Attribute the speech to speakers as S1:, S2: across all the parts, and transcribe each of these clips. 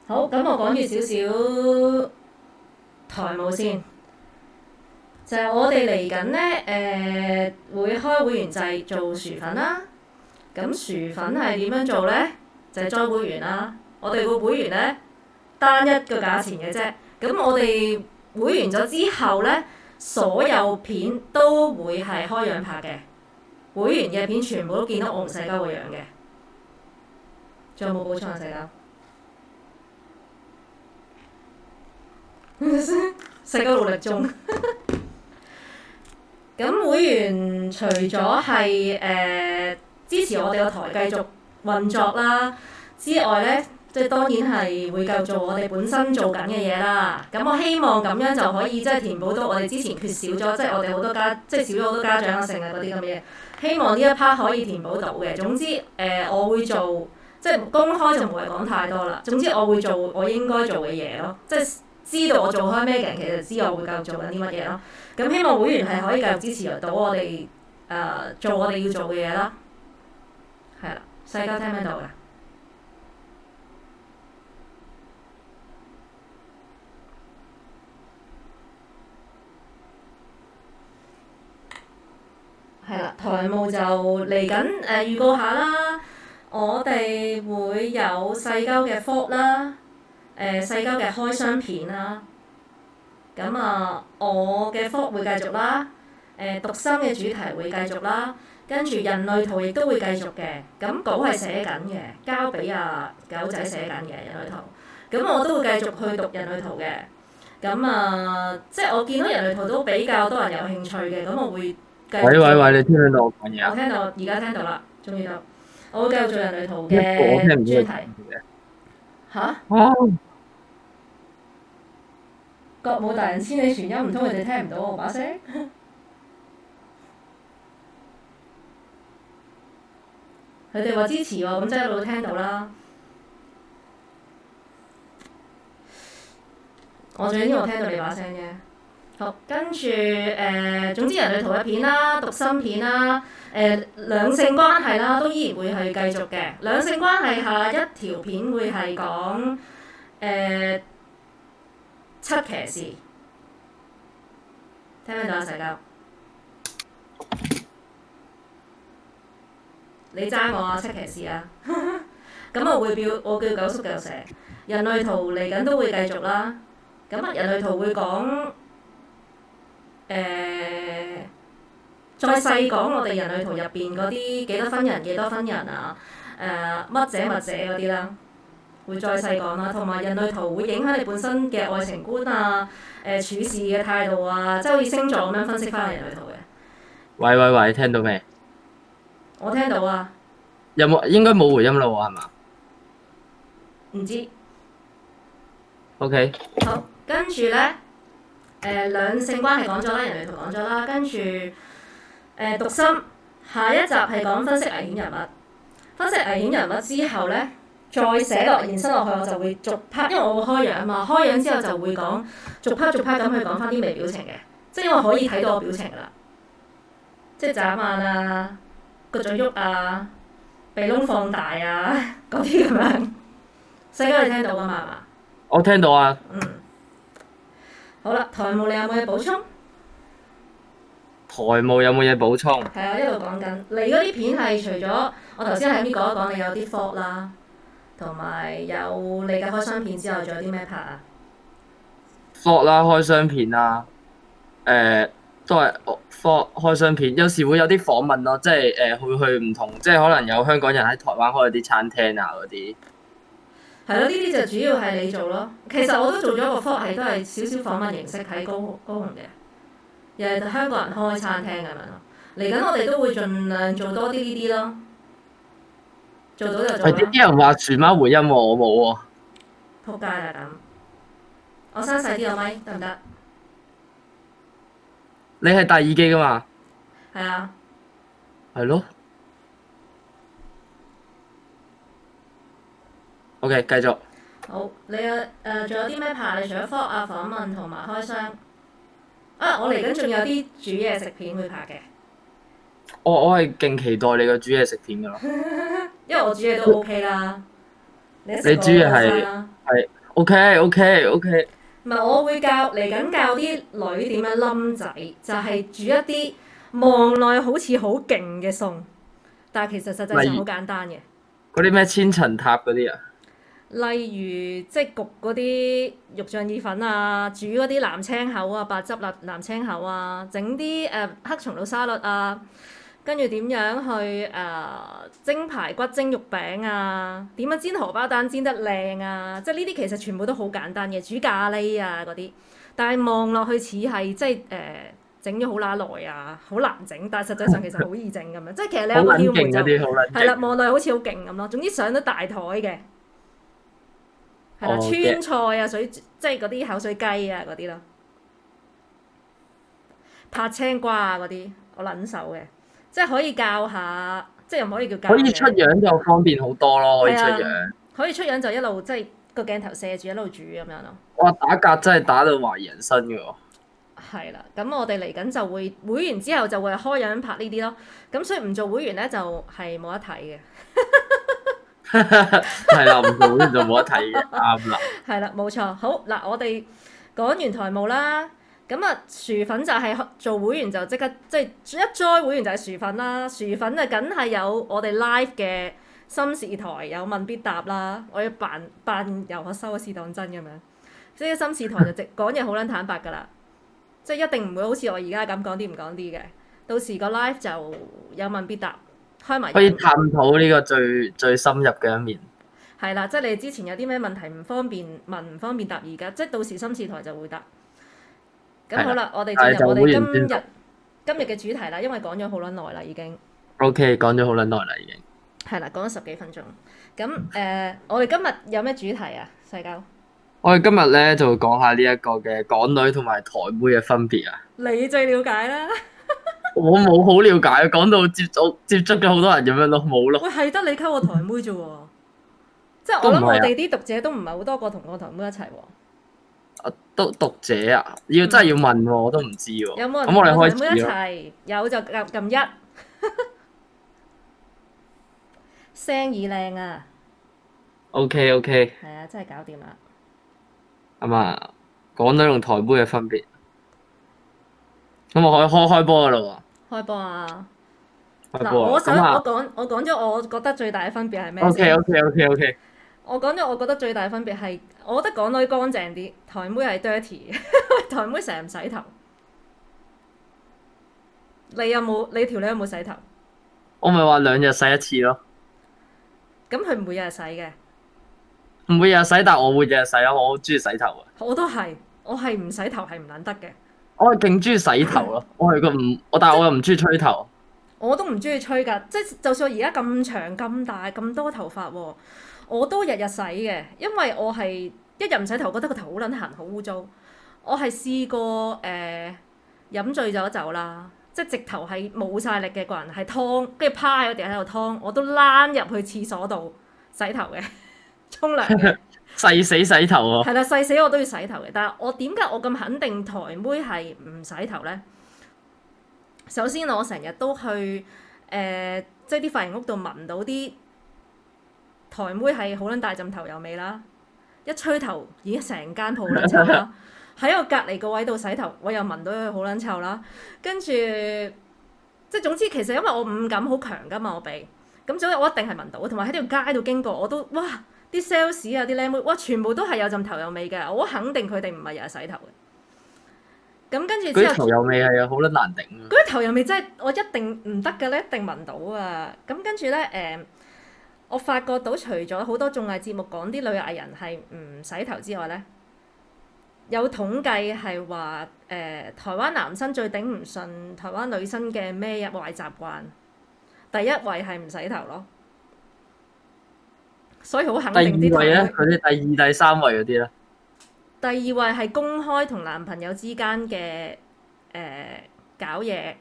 S1: 好，咁我講住少少台務先，就係我哋嚟緊咧，會開會員制做薯粉啦。咁薯粉係點樣做咧？就係 join 會員啦。我哋個會員咧單一個價錢嘅啫。咁我哋會員咗之後咧，所有片都會係開樣拍嘅。會員嘅片全部都見到我同細鳩個樣嘅。仲有冇補充啊，細鳩？細鳩努力中。咁會員除咗係支持我哋個台繼續運作啦之外咧，即係當然係會繼續做我哋本身做緊嘅嘢啦。咁我希望咁樣就可以即係填補到我哋之前缺少咗，即係我哋好多即係少咗好多家長啊、剩啊嗰啲咁嘅嘢。希望呢一 part 可以填補到嘅。總之我會做，即係公開就唔會講太多啦。總之我會做我應該做嘅嘢咯，即係知道我做開咩嘅人其實知我會繼續做緊啲乜嘢咯。咁希望會員係可以繼續支持到我哋做我哋要做嘅嘢啦。係啦，細鳩聽唔聽到㗎？係啦，台務就嚟緊預告下啦。我哋會有細鳩嘅 vlog 啦，細鳩嘅開箱片啦。咁我嘅 vlog 會繼續啦。讀心嘅主題會繼續啦。跟住人類圖亦都會繼續嘅。咁稿係寫緊嘅，交俾狗仔寫緊嘅人類圖。咁我都會繼續去讀人類圖嘅。咁即係我見到人類圖都比較多人有興趣嘅，咁我會。喂，
S2: 你聽唔聽到我講嘢啊？
S1: 我聽到，而家聽到啦，終於到。我會繼續做人類圖嘅專題。嚇？國母大人千里傳音，唔通佢哋聽唔到我把聲？佢哋話支持喎，咁即係一路都聽到啦。我最緊要我聽到你把聲啫。好，跟住總之人類圖嘅片啦、讀心片啦、兩性關係啦，都依然會係繼續嘅。兩性關係下一條片會係講七騎士，聽唔聽到啊？細鳩，你爭我啊！七騎士啊！咁我叫九叔繼續寫人類圖嚟緊都會繼續啦。咁人類圖會講。再細講我哋人類圖入邊嗰啲幾多分人幾多分人啊，乜者乜者嗰啲啦，會再細講啦。同埋人類圖會影響你本身嘅愛情觀啊，處事嘅態度啊，即係好似星座咁樣分析翻人類圖嘅。
S2: 喂，聽到未？
S1: 我聽到啊。
S2: 有冇應該冇回音啦喎，係嘛？
S1: 唔知。
S2: OK。
S1: 好，跟住咧。兩性關係講咗啦，人類圖講咗啦，跟住讀心下一集係講分析危險人物，分析危險人物之後咧，再寫落延伸落去，我就會逐 part，因為我會開樣啊嘛，開樣之後就會講逐 part 咁去講翻啲微表情嘅，即係因為可以睇到我表情噶啦，即係眨眼啊，個嘴喐啊，鼻窿放大啊，嗰啲咁樣。細鳩你聽到噶嘛？係嘛？
S2: 我聽到啊。
S1: 好啦，台務你有冇嘢補充？
S2: 台務有冇嘢補充？
S1: 係啊，一路講緊。你嗰啲片係除咗我頭先喺邊講一講，你有啲 vlog 啦，同埋有你嘅開箱片之後，仲有啲咩拍啊
S2: ？vlog 啦，開箱片啦，都係 vlog 開箱片，有時會有啲訪問咯，即係會去唔同，即係可能有香港人喺台灣開啲餐廳啊嗰啲。
S1: 係咯，呢啲就主要係你做咯。其實我都做咗個 vlog，係都係少少訪問形式喺高雄嘅，又係香港人開餐廳咁樣咯。嚟緊我哋都會盡量做多啲呢啲咯，做到就做啦。
S2: 係啲人話樹貓回音喎，我冇喎。
S1: 仆街啦咁，我閂細啲個咪得唔得？
S2: 你係戴耳機㗎嘛？
S1: 係啊。
S2: 係咯。OK， 繼續。
S1: 好，你仲有啲咩拍？你除咗 vlog 啊、訪問同埋開箱啊，我嚟緊仲有啲煮嘢食片會拍嘅。
S2: 我係勁期待你個煮嘢食片㗎咯。
S1: 因為我煮嘢都 OK 啦。你煮
S2: 嘢係 OK。
S1: 唔係，我會嚟緊教啲女點樣冧仔，就係煮一啲望落去好似好勁嘅餸，但係其實實際上好簡單嘅。
S2: 嗰啲咩千層塔嗰啲啊？
S1: 例如即係焗嗰啲肉醬意粉啊，煮嗰啲藍青口啊、白汁藍青口啊，整啲黑松露沙律啊，跟住點樣去蒸排骨、蒸肉餅啊，點樣煎荷包蛋煎得靚啊，即係呢啲其實全部都好簡單嘅，煮咖喱啊嗰啲，但係望落去似係即係整咗好乸耐啊，好難整，但係實際上其實好易整咁樣，即係其實你有個竅門就係啦，望落去好似好勁咁咯。總之上到大台嘅。係啦，川菜啊，即係嗰啲口水雞啊嗰啲咯，拍青瓜啊嗰啲，我撚手嘅，即係可以教下，即係又唔可以叫教。
S2: 可以出樣就方便好多咯，可以出樣。
S1: 可以出樣就一路即係個鏡頭射住一路煮咁樣咯。
S2: 哇！打格真係打到懷疑人生㗎喎。
S1: 係啦，咁我哋嚟緊就會會員之後就會開樣拍呢啲咯，咁所以唔做會員咧就係冇得睇嘅。
S2: 係啦，唔做會員就冇得睇嘅，啱啦。係
S1: 啦，冇錯。好嗱，我哋講完台務啦，咁啊薯粉就係做會員就即刻即係一 join 會員就係薯粉啦。薯粉啊，梗係有我哋 live 嘅心事台有問必答啦。我要扮遊學收咗試當真咁樣，即係心事台就直講嘢好撚坦白㗎啦，即係一定唔會好似我而家咁講啲唔講啲嘅。到時個 live 就有問必答。
S2: 可以探討呢個最深入嘅一面。
S1: 係啦，即係你之前有啲咩問題唔方便問、唔方便答，而家即係到時心事台就會答。咁好啦，我哋進入我哋今日嘅主題啦，因為講咗好撚耐啦已經。
S2: OK， 講咗好撚耐啦已經。
S1: 係啦，講咗10幾分鐘。咁我哋今日有咩主題啊？世交。
S2: 我哋今日咧就會講下呢一個嘅港女同埋台妹嘅分別啊。
S1: 你最了解啦。
S2: 我冇好了解，講到接觸咗好多人咁樣咯，冇咯。
S1: 喂，係得你溝我台妹啫喎，即係我諗我哋啲讀者都唔係好多個同我台妹一齊喎。
S2: 都讀者啊，真係要問喎，我都唔知喎。
S1: 有冇人
S2: 同我
S1: 台妹一齊？有就撳1。聲耳靚啊。
S2: OK。
S1: 係啊，真係搞掂啦。
S2: 咁啊，港女同台妹嘅分別。咁我可以開波噶啦喎。開波
S1: 啊！嗱，我講咗我覺得最大嘅分別係咩先？
S2: OK。
S1: 我講咗我覺得最大嘅分別係，我覺得港女乾淨啲，台妹係 dirty 嘅。台妹成日唔洗頭。你條女有冇洗頭？
S2: 我咪話2日洗一次咯。
S1: 咁佢唔會日日洗嘅。
S2: 唔會日日洗，但係我會日日洗咯，我好中意洗頭啊。
S1: 我都係，我係唔洗頭係唔撚得嘅。
S2: 我係勁中意洗頭咯，但係我又唔中意吹頭。
S1: 我都唔中意吹㗎，即係就算我而家咁長咁大咁多頭髮喎，我都日日洗嘅，因為我係一日唔洗頭，覺得個頭好撚痕，好污糟。我係試過飲醉咗酒啦，即係直頭係冇晒力嘅個人係湯，跟住趴喺個地喺度湯，我都躝入去廁所度洗頭嘅，沖涼嘅。
S2: 誓死洗頭喎！
S1: 係啦，誓死我都要洗頭嘅。但係我點解我咁肯定台妹係唔洗頭咧？首先我成日都去即係啲髮型屋度聞到啲台妹係好撚大陣頭油味啦。一吹頭已經成間鋪好撚臭啦。喺我隔離個位度洗頭，我又聞到佢好撚臭啦。跟住即係總之其實因為我五感好強㗎嘛，我鼻咁所以我一定係聞到。同埋喺條街度經過我都哇〜啲 sales 啊，啲靚妹，哇，全部都係有陣頭油味嘅，我肯定佢哋唔係日日洗頭嘅。咁跟住之後，嗰啲
S2: 頭油味係好撚難頂啊！
S1: 嗰啲頭油味真係我一定唔得嘅咧，一定聞到啊！咁跟住咧我發覺到除咗好多綜藝節目講啲女藝人係唔洗頭之外咧，有統計係話台灣男生最頂唔順台灣女生嘅咩壞習慣，第一位係唔洗頭咯。所以好肯定啲。第二位咧，
S2: 佢哋第2、第3位嗰啲咧。
S1: 第2位係公開同男朋友之間嘅搞嘢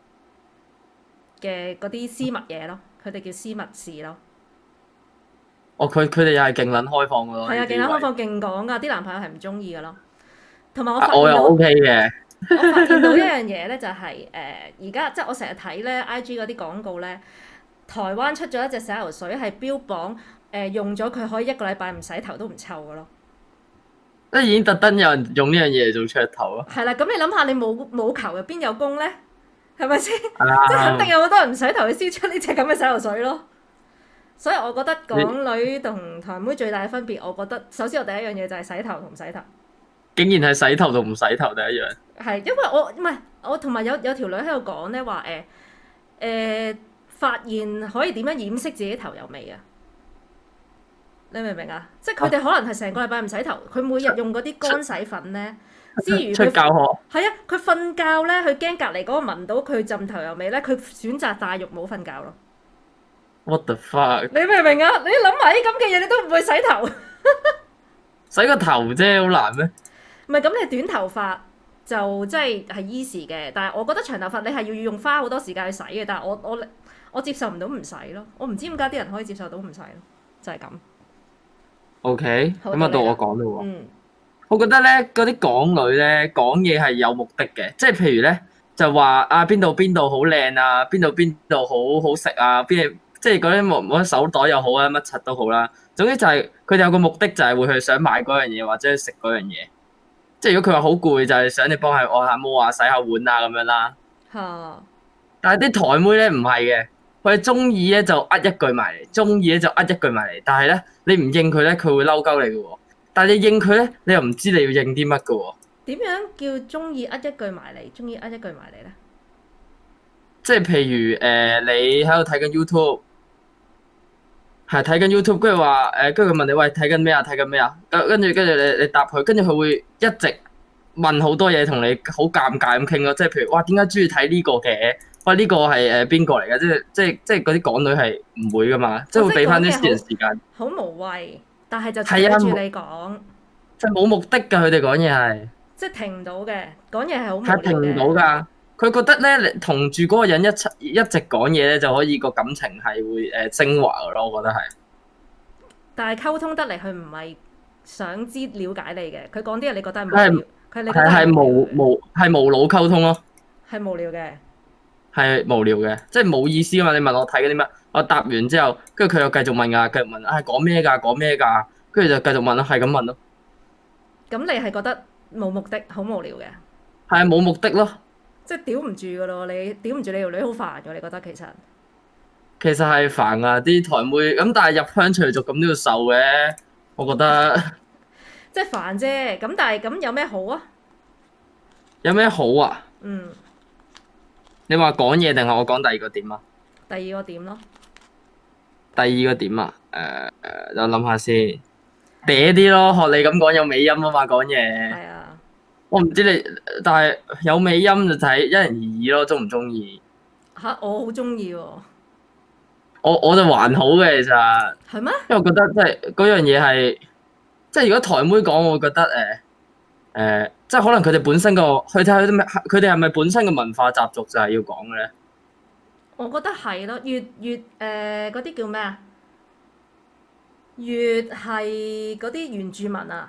S1: 嘅嗰啲私密嘢咯，佢哋叫私密事咯。
S2: 哦，佢哋又係勁撚開放㗎咯。
S1: 係啊，勁撚開放，勁講㗎，啲男朋友係唔中意㗎咯。同埋
S2: 我又 OK 嘅。
S1: 我發現到一樣嘢咧，就係而家即係我成日睇咧 IG 嗰啲廣告咧，台灣出咗一隻洗頭水係標榜。用咗佢可以1個禮拜唔洗頭都唔臭嘅咯。
S2: 即係已經特登有人用呢樣嘢嚟做噱頭咯。
S1: 係啦，咁你諗下，你冇球入邊有功咧？係咪先？
S2: 係
S1: 即係肯定有好多人唔洗頭去燒出呢隻咁嘅洗頭水咯。所以我覺得港女同台妹最大嘅分別，我覺得首先我第一樣嘢就係洗頭同唔洗頭。竟
S2: 然係洗頭同唔洗頭第一樣。
S1: 係因為我唔係我同埋有條女喺度講咧話發現可以點樣掩飾自己頭有味啊？你明唔明啊？即係佢哋可能係成個禮拜唔洗頭，佢每日用嗰啲乾洗粉咧，之餘佢
S2: 教學
S1: 係啊，佢瞓覺咧，佢驚隔離嗰個聞到佢浸頭油味咧，佢選擇戴浴帽瞓覺咯。
S2: What the fuck？
S1: 你明唔明啊？你諗埋啲咁嘅嘢，你都唔會洗頭。
S2: 洗個頭啫，好難咩？
S1: 唔係咁，你短頭髮就即係 easy 嘅，但係我覺得長頭髮你係要用花好多時間去洗嘅。但係我接受唔到唔洗咯，我唔知點解啲人可以接受到唔洗咯，就係咁。OK，
S2: 咁啊到我講啦喎。
S1: 嗯，
S2: 我覺得咧嗰啲港女咧講嘢係有目的嘅，即係譬如咧就話啊邊度好靚啊，邊度好好食啊，即係嗰啲冇手袋又好啊，乜柒都好啦。總之就係佢哋有個目的，就係會去想買嗰樣嘢或者食嗰樣嘢。即係如果佢話好攰，就係想你幫佢按下摩啊、洗下碗啊咁樣啦。
S1: 嚇！
S2: 但係啲台妹咧唔係嘅。佢哋中意咧就一句埋嚟，中意咧就一句埋嚟。但係咧你唔應佢咧，佢會嬲鳩你嘅喎。但係你應佢咧，你又唔知你要應啲乜嘅喎。點樣叫中意一句埋嚟？中意一句埋嚟咧？即係譬如你喺度睇緊 YouTube， 係睇緊 YouTube， 跟住話跟住佢問你喂睇緊咩啊？睇緊咩啊？跟住你答佢，跟住佢會一直問好多嘢同你好尷尬咁傾咯。即係譬如哇點解中意睇呢個嘅？喂，呢個係邊個嚟㗎？即係嗰啲港女係唔會㗎嘛，即係會俾翻啲私人時間。好無謂，但係就睇住你講。就冇目的㗎，佢哋講嘢係。即係停唔到嘅，講嘢係好無聊嘅。係停唔到㗎，佢覺得咧，同住嗰個人一直講嘢咧，就可以個感情係會升華㗎咯，我覺得係。但係溝通得嚟，佢唔係想知了解你嘅，佢講啲嘢你覺得係無聊，係無腦溝通咯。係無聊嘅。係無聊嘅，即係冇意思啊嘛！你問我睇緊啲乜，我答完之後，跟住佢又繼續問啊，繼續問啊，講咩㗎？講咩㗎？跟住就繼續問咯，係咁問咯。咁你係覺得冇目的，好無聊嘅？係啊，冇目的咯。即係屌唔住㗎咯，你屌唔住你條女好煩㗎，你覺得其實？其實係煩啊，啲台妹咁，但係入鄉隨俗咁都要受嘅，我覺得。即係煩啫，咁但係咁有咩好啊？有咩好啊？嗯。你話講嘢定係我講第二個點啊？第二個點咯。第二個點啊？我諗下先，嗲啲咯，學你咁講有尾音啊嘛，講嘢。係啊。我唔知你，但係有尾音就睇因人而異咯，鍾唔鍾意？嚇！我好鍾意喎。我就還好嘅其實。係咩？因為我覺得即係嗰樣嘢係，即係如果台妹講，我會覺得即係可能佢哋本身佢哋係咪本身嘅文化習俗就係要講嘅咧？我覺得係咯，越嗰啲叫咩啊？越係嗰啲原住民啊！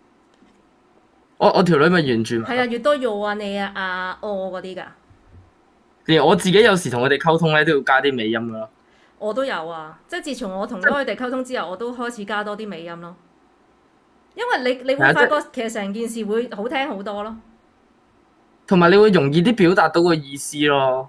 S2: 我條女咪原住民。係啊，越多要啊你啊嗰啲㗎。連我自己有時同佢哋溝通咧，都要加啲尾音㗎咯。我都有啊，即係自從我同咗佢哋溝通之後，我都開始加多啲尾音咯。因為你會發覺其實成件事會好聽好多咯，同埋你會容易啲表達到個意思咯。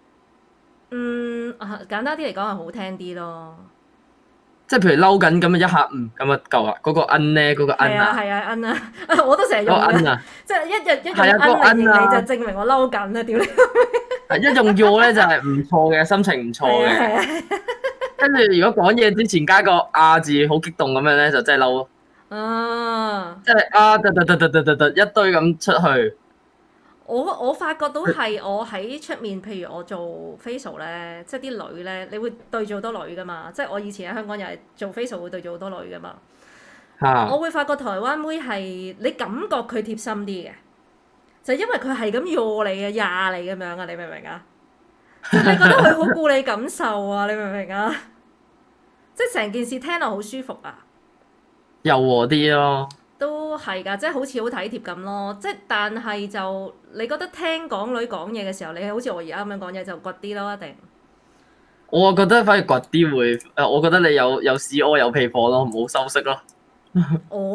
S2: 簡單啲嚟講係好聽啲咯。即係譬如嬲緊咁啊，一下咁啊夠啦。嗰個咧，嗰個啊。係啊我都成日用嘅。即係一用嚟形容你就證明我嬲緊啦，屌你！一用要咧就係唔錯嘅，心情唔錯嘅。跟住如果講嘢之前加個字，好激動咁樣咧，就真係嬲咯。即係突一堆咁出去。我發覺到係我喺出面，譬如我做 facial 咧，即係啲女咧，你會對住好多女噶嘛。即係我以前喺香港又係做 facial 會對住好多女噶嘛。我會發覺台灣妹係你感覺佢貼心啲嘅，就因為佢係咁喐你嘅，壓你咁樣啊！你明唔明啊？你覺得佢好顧你感受啊？你明唔明啊？即係成件事聽落好舒服啊！柔和啲咯，都係㗎，即係好似好體貼咁咯。即係但係就你覺得聽港女講嘢嘅時候，你好似我而家咁樣講嘢就倔啲咯，一定。我覺得反而倔啲會，我覺得你有屎屙有屁貨咯，唔好修飾咯。我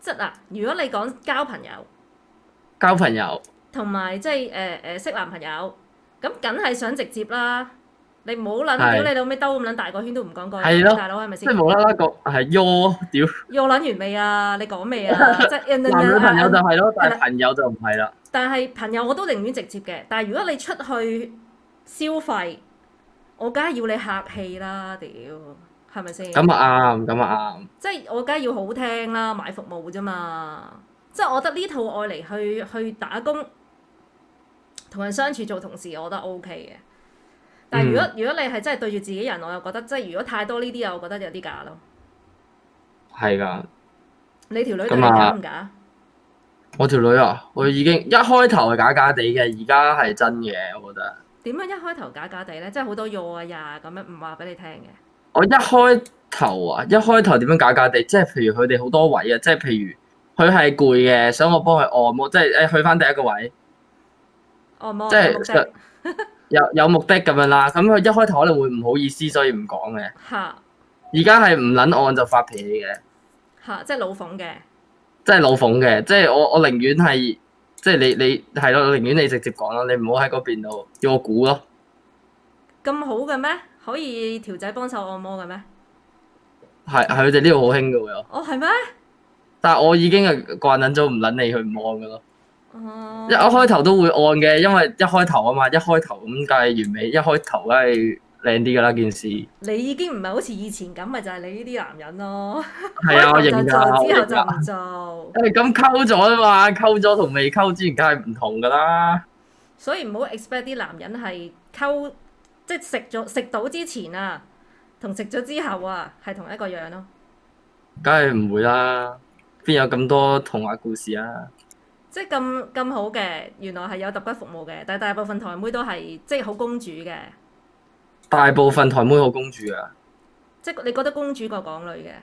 S1: 即係嗱，如果你講交朋友同埋即係識男朋友，咁梗係想直接啦。你唔好撚屌你老味兜咁撚大個圈都唔講句，大佬係咪先？
S2: 即係無啦啦講係ё屌。ё
S1: 撚完未啊？你講未啊？即係
S2: 男女朋友就係咯，但係朋友就唔係啦。
S1: 但係朋友我都寧願直接嘅，但係如果你出去消費，我梗係要你客氣啦，屌係咪先？
S2: 咁啊啱，咁啊啱。
S1: 即係我梗係要好聽啦，買服務啫嘛。即係我覺得呢套愛嚟去打工，同人相處做同事，我覺得 OK 嘅。但係如果你係真係對住自己人，我又覺得即係如果太多呢啲啊，我覺得有啲假咯。
S2: 係㗎。
S1: 你條女對你假唔假？
S2: 我條女啊，我已經一開頭係假假地嘅，而家係真嘅，我覺得。點
S1: 樣一開頭假假地咧？即係好多藥啊呀咁樣唔話俾你聽嘅。
S2: 我一開頭點樣假假地？即係譬如佢哋好多位啊，即係譬如佢係攰嘅，想我幫佢按摩，即係去翻第一個位。
S1: 按摩。
S2: 即係有目的咁樣啦，咁佢一開頭可能會唔好意思，所以唔講嘅。
S1: 嚇！
S2: 而家係唔撚按就發脾氣嘅。
S1: 嚇！即係老諷嘅。
S2: 即係老諷嘅，即係我寧願係，即係你係咯，我寧願你直接講咯，你唔好喺嗰邊度要我估咯。
S1: 咁好嘅咩？可以條仔幫手按摩嘅咩？
S2: 係佢哋呢度好興嘅喎。
S1: 哦，係咩？
S2: 但係我已經係慣撚咗唔撚你去唔按嘅咯。
S1: 哦。
S2: 一開頭都會按嘅，因為一開頭啊嘛，一開頭咁梗係完美，一開頭梗係靚啲㗎啦件事。
S1: 你已經唔係好似以前咁，咪就係你呢啲男人咯。
S2: 係啊，我認㗎。
S1: 之後就唔做。
S2: 咁溝咗啊嘛，溝咗同未溝之前梗係唔同㗎啦。
S1: 所以唔好 expect 啲男人係溝，即係食到之前啊，同食咗之後啊，係同一個樣咯。
S2: 梗係唔會啦，邊有咁多童話故事啊？
S1: 即係咁好嘅，原來係有揼骨服務嘅，但係大部分台妹都係即係好公主嘅。
S2: 大部分台妹好公主啊！
S1: 即係你覺得公主過港女嘅？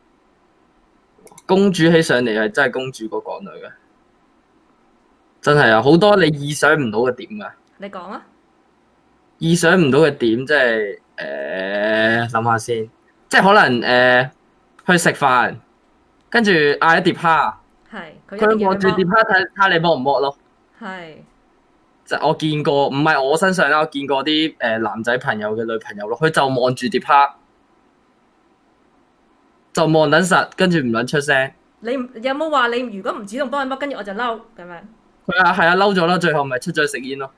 S2: 公主起上嚟係真係公主過港女嘅，真係啊！好多你意想唔到嘅點啊！
S1: 你講啊！
S2: 意想唔到嘅點即係諗下先，即係可能去食飯，跟住嗌一碟蝦。
S1: 係，
S2: 佢望住碟蝦睇你剝唔剝咯。
S1: 係。
S2: 就我見過，唔係我身上啦，我見過啲男仔朋友嘅女朋友咯，佢就望住碟蝦，就望撚實，跟住唔撚出聲。
S1: 你有冇話你如果唔主動幫佢剝，跟住我就嬲咁樣？
S2: 係啊，嬲咗啦，最後咪出咗去食煙咯。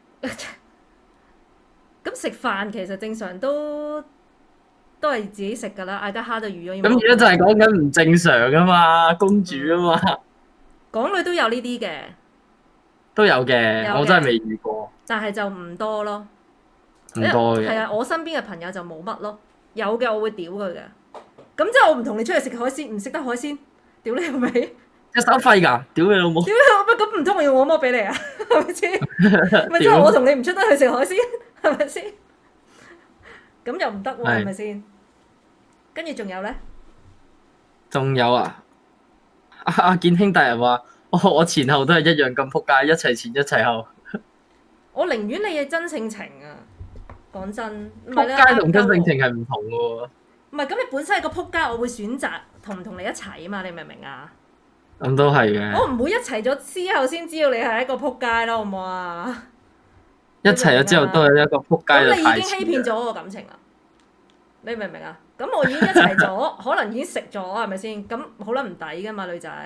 S1: 咁食飯其實正常都係自己食㗎啦，嗌得蝦就預咗。
S2: 咁而家就係講緊唔正常㗎嘛，公主啊嘛。
S1: 港女都有呢啲嘅。
S2: 都有嘅，我真係未遇過。
S1: 但係就唔多咯。
S2: 唔多嘅。
S1: 係啊，我身邊嘅朋友就冇乜咯。有嘅我會屌佢嘅。咁即係我唔同你出去食海鮮，唔食得海鮮，屌你老味！
S2: 一手廢㗎，屌你老母！
S1: 屌你老母！咁唔通我要我剝俾你啊？係咪先？咪即係我同你唔出得去食海鮮，係咪先？咁又唔得喎，係咪先？跟住仲有咧？
S2: 仲有啊！阿健兄大人話。我前後都係一樣咁撲街，一齊前一齊後。
S1: 我寧願你嘅真性情啊！講真，
S2: 撲街同真性情係唔同嘅喎。
S1: 唔係咁，你本身係個撲街，我會選擇同唔同你一齊啊嘛！你明唔明啊？
S2: 咁都係嘅。
S1: 我唔會一齊咗之後先知道你係一個撲街咯，好唔好啊？
S2: 一齊咗之後都係一個撲街。
S1: 咁你已經欺騙咗我個感情啦！你明唔明啊？咁我已經一齊咗，可能已經食咗，係咪先？咁好撚唔抵噶嘛，女仔。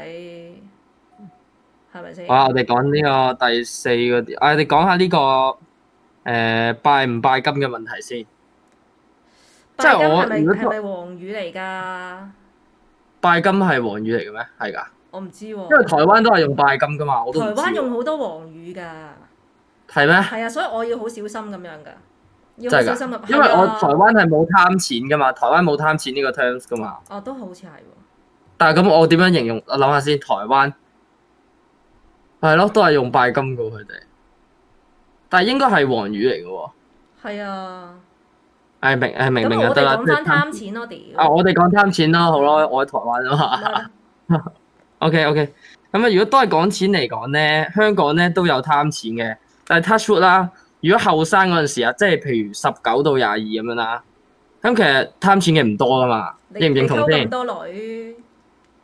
S1: 係咪先？
S2: 哇！我哋講呢個第四個，我哋講下呢個拜唔拜金嘅問題先。
S1: 拜金係咪黃語嚟㗎？
S2: 拜金係黃語嚟嘅咩？係㗎。
S1: 我唔知喎。因
S2: 為台灣都係用拜金㗎嘛，我都唔知。
S1: 台灣用好多黃語㗎。
S2: 係咩？
S1: 係啊，所以我要好小心咁樣㗎。要好小心啊！
S2: 因為我台灣係冇貪錢㗎嘛，台灣冇貪錢呢個 terms 㗎嘛。
S1: 哦，都好似係喎。
S2: 但係咁，我點樣形容？我諗下先，台灣。係咯，都係用拜金噶佢哋，但係應該係黃語嚟嘅喎。
S1: 係啊。
S2: 明就得啦。
S1: 咁我哋講翻貪錢咯，屌。
S2: 我哋講貪錢咯，好咯，我喺台灣啊嘛。OK。咁啊，如果都係講錢嚟講咧，香港咧都有貪錢嘅，但係 touch wood 啦。如果後生嗰陣時啊，即係譬如19到22咁樣啦，咁其實貪錢嘅唔多噶嘛，認唔認同先？
S1: 咁多女。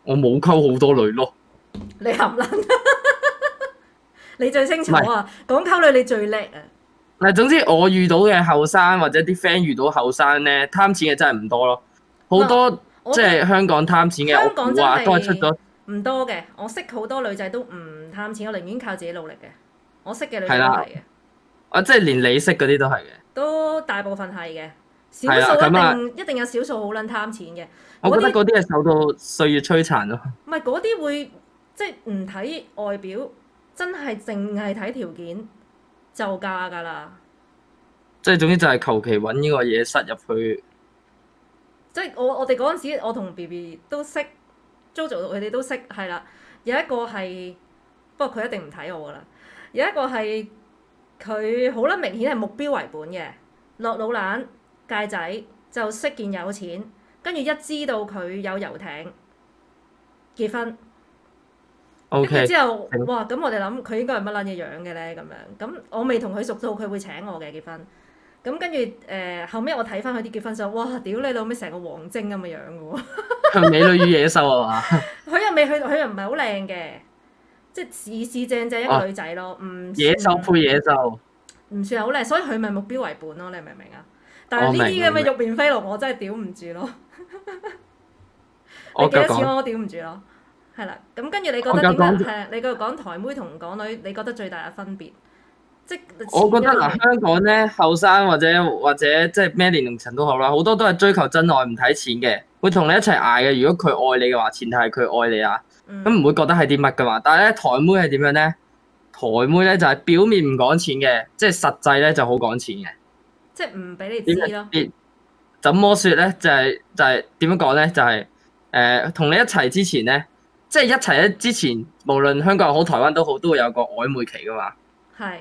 S2: 我冇溝好多女咯。
S1: 你含撚，你最清楚啊！講溝女你最叻啊！
S2: 嗱，總之我遇到嘅後生或者啲 friend 遇到後生咧，貪錢嘅真係唔多咯。好多即係香港貪錢嘅，我估啊都係出咗
S1: 唔多嘅。我識好多女仔都唔貪錢，我寧願靠自己努力嘅。我識嘅女仔都係嘅。
S2: 啊，即係連你識嗰啲都係嘅。
S1: 都大部分係嘅，少數一定有少數好撚貪錢嘅。
S2: 我覺得嗰啲係受到歲月摧殘咯。
S1: 唔係嗰啲會即係唔睇外表，真係淨係睇條件就嫁㗎啦。
S2: 即係總之就係求其揾呢個嘢塞入去。
S1: 即係我哋嗰陣時，我同 BB 都識 JoJo 佢哋都識係啦。有一個係，不過佢一定唔睇我㗎啦。有一個係。佢好撚明顯係目標為本嘅，落老蘭戒仔就識件有錢，跟住一知道佢有遊艇結婚，跟住
S2: Okay.
S1: 之後哇咁我哋諗佢應該係乜撚嘢樣嘅咧咁樣，咁我未同佢熟到佢會請我嘅結婚，咁跟住後尾我睇翻佢啲結婚相，哇屌你老味成個王晶咁嘅樣嘅喎，
S2: 美女與野獸啊嘛？
S1: 佢又未去，佢又唔係好靚嘅。即係四正正一個女仔咯，唔
S2: 野獸配野獸，
S1: 唔算係好靚，所以佢咪目標為本咯，你明唔明啊？但係呢啲咁嘅玉面飛龍，我真係屌唔住咯。你幾多錢我屌唔住咯，係啦。咁跟住你覺得點解係？你繼續講台妹同港女，你覺得最大嘅分別？即
S2: 我覺得嗱，香港咧後生或者即係咩年齡層都好啦，好多都係追求真愛，唔睇錢嘅，會同你一齊捱嘅。如果佢愛你嘅話，前提係佢愛你啊。咁唔會覺得係啲乜噶嘛？但係咧台妹係點樣咧？台妹咧就係表面唔講錢嘅，即係實際咧就好講錢嘅。
S1: 即係唔俾你知咯。
S2: 怎麼說咧？就係點樣講咧？就係同你一齊之前咧，即係一齊咧之前，無論香港好台灣都好，都會有個曖昧期噶嘛。
S1: 係。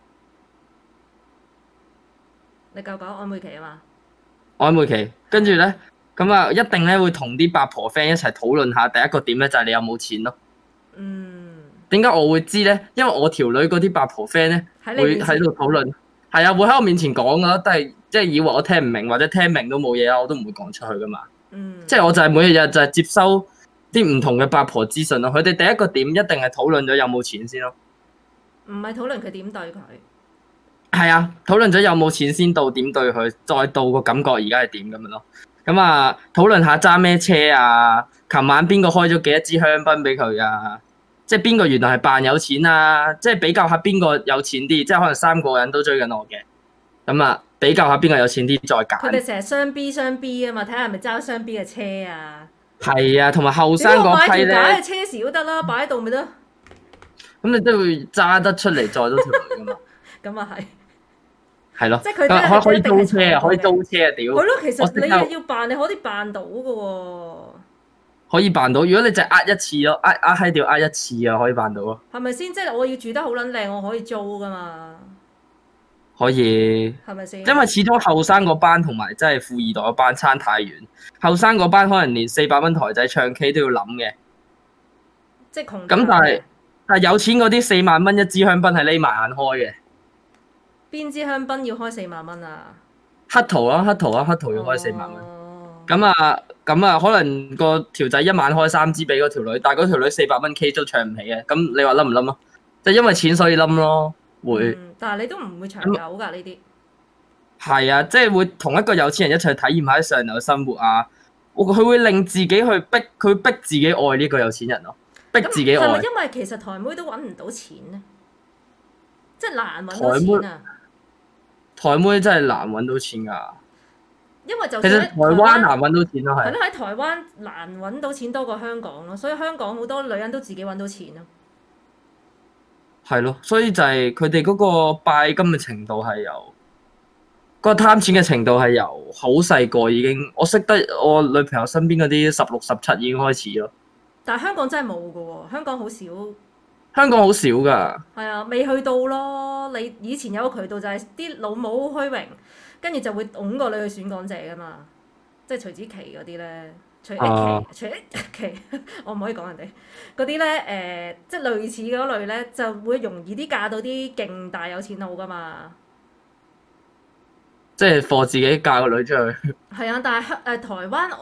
S1: 你夠講曖昧期啊嘛？
S2: 曖昧期，跟住咧。咁啊，一定咧會同啲八婆 friend 一齊討論下。第一個點咧就係你有冇錢咯。點解我會知咧？因為我條女嗰啲八婆 friend 咧會喺度討論，係啊，會喺我面前講噶，但係即係以為我聽唔明或者聽明都冇嘢啊，我都唔會講出去噶嘛。即係我就係每日就係接收啲唔同嘅八婆資訊咯。佢哋第一個點一定係討論咗有冇錢先咯。
S1: 唔係討論佢點對佢。
S2: 係啊，討論咗有冇錢先到點對佢，再到個感覺而家係點咁樣咯。咁啊，討論下揸咩車啊？琴晚邊個開咗幾多支香檳俾佢啊？即係邊個原來係扮有錢啊？即係比較下邊個有錢啲，即係可能3個人都追緊我嘅。咁啊，比較下邊個有錢啲再揀。佢
S1: 哋成日雙 B 啊嘛，睇下係咪揸雙 B 嘅車啊？
S2: 係啊，同埋後生嗰批咧。
S1: 點解買條假嘅車匙都得啦，擺喺度咪得？
S2: 咁你都會揸得出嚟載到條女噶嘛？
S1: 咁啊係。
S2: 係咯，
S1: 即係佢
S2: 可以租車啊，可以租車啊，屌！
S1: 係咯，其實你要扮，你可以扮到噶喎。
S2: 可以扮到，如果你就呃一次咯，呃閪掉呃一次啊，可以扮到咯。
S1: 係咪先？即係我要住得好撚靚，我可以租噶嘛？
S2: 可以。
S1: 係咪先？
S2: 因為始終後生嗰班同埋真係富二代嗰班差太遠，後生嗰班可能連400蚊台仔唱 K 都要諗嘅。
S1: 即係窮。
S2: 咁但係有錢嗰啲4萬蚊一支香檳係匿埋眼開嘅。
S1: 邊支香檳要開4萬蚊啊？
S2: 黑桃啊，黑桃要開4萬蚊。咁啊，可能個條仔一晚開3支俾嗰條女，但係嗰條女400蚊 K 都唱唔起嘅。咁你話冧唔冧啊？就因為錢所以冧咯，會。
S1: 但係你都唔會長久㗎呢啲。係
S2: 啊，即係會同一個有錢人一齊體驗下啲上流生活啊！佢會令自己去逼自己愛呢個有錢人咯，逼自己愛。
S1: 係咪因為其實台妹都揾唔到錢咧？即係難揾到錢啊！
S2: 台妹真係難揾到錢㗎，
S1: 因為就
S2: 其實台灣難揾到錢咯，係。
S1: 係咯，喺台灣難揾到錢多過香港咯，所以香港好多女人都自己揾到錢咯。
S2: 係咯，所以就係佢哋嗰個拜金嘅程度係由嗰個貪錢嘅程度係由好細個已經，我識得我女朋友身邊嗰啲16、17已經開始咯。
S1: 但係香港真係冇㗎喎，香港好少。
S2: 香港好少㗎。係
S1: 啊，未去到咯。你以前有個渠道就係啲老母好虛榮，跟住就會擁個女去選港姐㗎嘛。即係徐子淇嗰啲咧，徐淇，我唔可以講人哋嗰啲咧。即係類似嗰類咧，就會容易啲嫁到啲勁大有錢佬㗎嘛。即
S2: 係貨自己嫁個女出去。
S1: 係啊，但係台灣我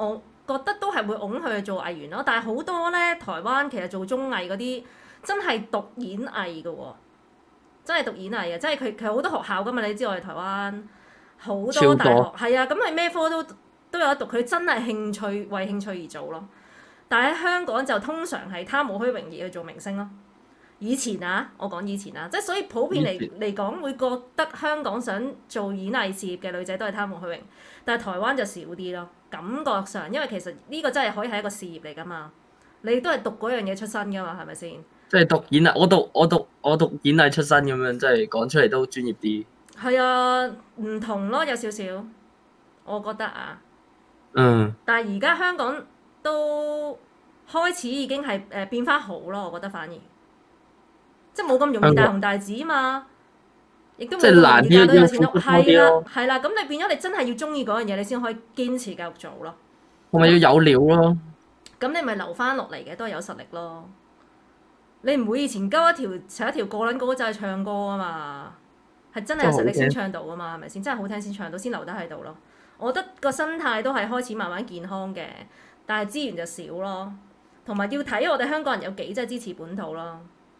S1: 覺得都係會擁佢去做藝員咯。但係好多咧，台灣其實做綜藝嗰啲真係讀演藝嘅喎，真係讀演藝嘅，即係佢好多學校噶嘛。你知我哋台灣好多大學係啊，咁你咩科都有得讀，佢真係為興趣而做咯。但係喺香港就通常係貪慕虛榮而去做明星咯。以前啊，我講以前啊，即係所以普遍嚟講會覺得香港想做演藝事業嘅女仔都係貪慕虛榮，但係台灣就少啲咯。感覺上，因為其實呢個真係可以係一個事業嚟㗎嘛，你都係讀嗰樣嘢出身㗎嘛，係咪先？
S2: 即係讀演藝，我讀演藝出身咁樣，即係講出嚟都專業啲。係
S1: 啊，唔同咯，有少少，我覺得啊。
S2: 嗯。
S1: 但係而家香港都開始已經係變翻好咯，我覺得反而。即係冇咁容易大紅大紫啊嘛，亦都冇咁容易嫁到有錢屋，係啦，咁你變咗你真係要中意嗰樣嘢，你先可以堅持繼續做咯。
S2: 同埋要有料咯。
S1: 咁你咪留翻落嚟嘅，都係有實力咯。你唔會以前鳩成一條個撚歌仔唱歌啊嘛，係真係有實力先唱到啊嘛，係咪先？真係好聽先唱到，先留得喺度咯。我覺得個心態都係開始慢慢健康嘅，但係資源就少咯，同埋要睇我哋香港人有幾真係支持本土咯。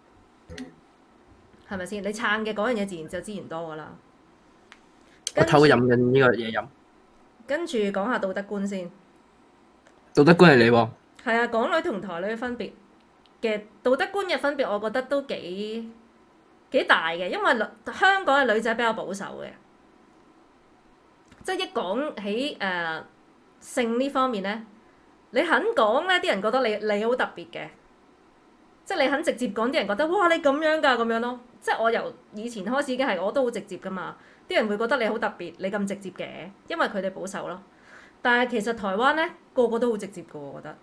S1: 係咪先？你撐嘅嗰樣嘢自然就資源多噶啦。
S2: 我偷飲緊呢個嘢飲。
S1: 跟住講下道德觀先。
S2: 道德觀係你喎。
S1: 係啊，港女同台女嘅分別嘅道德觀嘅分別，我覺得都幾大嘅，因為香港嘅女仔比較保守嘅，即係一講起性呢方面咧，你肯講咧，啲人覺得你好特別嘅。即係你肯直接講，啲人覺得哇你咁樣㗎咁樣咯。即係我由以前開始已經係我都好直接㗎嘛。啲人會覺得你好特別，你咁直接嘅，因為佢哋保守咯。但係其實台灣咧個個都好直接㗎喎，我覺得。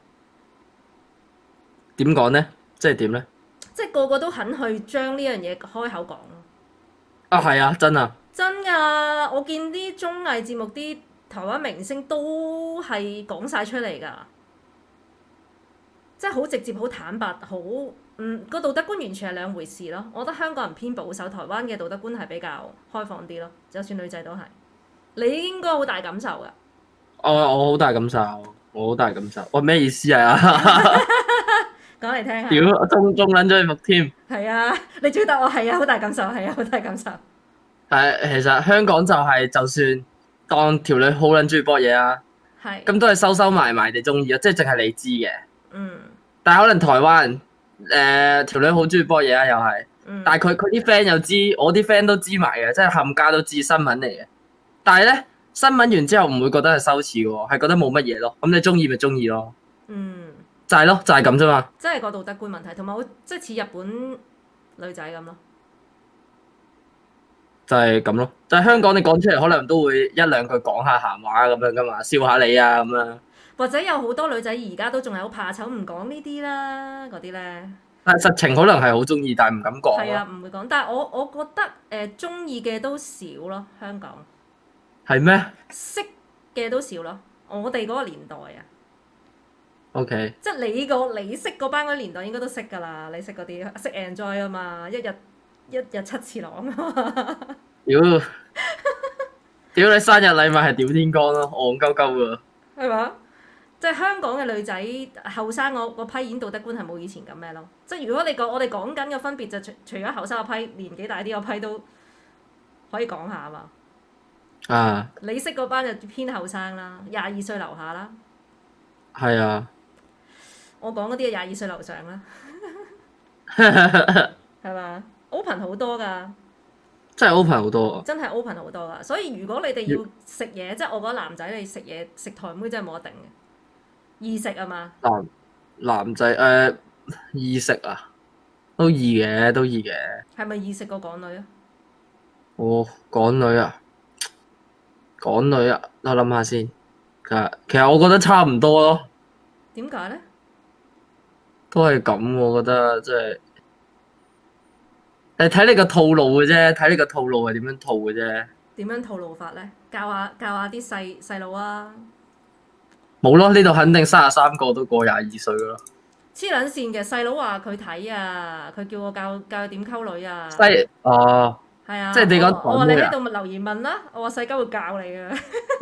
S1: 點講咧？即係點咧？即係個個都肯去將呢樣嘢開口講咯。
S2: 啊係啊，真啊！
S1: 真㗎，我見啲綜藝節目啲台灣明星都係講晒出嚟㗎。即係好直接、好坦白、個道德觀完全係兩回事咯。我覺得香港人偏保守，台灣嘅道德觀係比較開放啲咯。就算女仔都係，你應該好大感受㗎。
S2: 我好大感受，我好大感受。我咩意思啊？
S1: 講嚟聽下。
S2: 屌，我中撚咗你目添。
S1: 係啊，你追答我係啊，好大感受，係啊，好大感受。
S2: 係，其實香港就係就算當條女好撚中意搏嘢啊，係咁都係收埋埋地中意啊，即係淨係你知嘅。嗯，但係可能台灣條女好中意波嘢啊，又係，但係佢啲 friend 又知，我啲 friend 都知埋嘅，即係冚家都知新聞嚟嘅。但係咧新聞完之後唔會覺得係羞恥嘅喎，係覺得冇乜嘢咯。咁你中意咪中意咯。嗯，就係咯，就係咁啫嘛。
S1: 即係個道德觀問題，同埋即係似日本女仔咁咯。
S2: 就係咁咯，就係香港你講出嚟可能都會一兩句講下閒話咁樣噶嘛，笑下你啊咁樣。或者有好多女仔而家都仲係好怕醜，唔講呢啲啦，嗰啲咧。但係實情可能係好中意，但係唔敢講。係啊，唔會講。但係我覺得中意嘅都少咯，香港。係咩？識嘅都少咯，我哋嗰個年代啊。OK。即係你識嗰班嗰年代應該都識㗎啦，你識嗰啲識 enjoy 啊嘛，一日七次郎啊嘛。屌你生日禮物係屌天光咯，戇鳩鳩㗎。係嘛？即係香港嘅女仔後生嗰批演道德觀係冇以前咁咩咯？即係如果我哋講緊嘅分別就除咗後生嗰批，年紀大啲嗰批都可以講下啊嘛。啊！你識嗰班就偏後生啦，22歲樓下啦。係啊。我講嗰啲係22歲樓上啦。係嘛？open 好多㗎。真係 open 好多啊！真係 open 好多㗎，所以如果你哋要食嘢，即係我覺得男仔你食嘢食台妹真係冇得頂嘅。易食啊嘛？男仔易食啊，都易嘅，都易嘅。係咪易食過港女啊？哦，港女啊，我諗下先。其實我覺得差唔多咯。點解咧？都係咁，我覺得即係睇你個套路嘅啫，睇你個套路係點樣套嘅啫。點樣套路法咧？教下啲細佬啊！冇咯，呢度肯定33個都過22歲噶咯。黐撚線嘅細佬話佢睇啊，佢叫我教佢點溝女啊。係啊，即係你講我話你喺度留言問啦，我話細鳩會教你啊。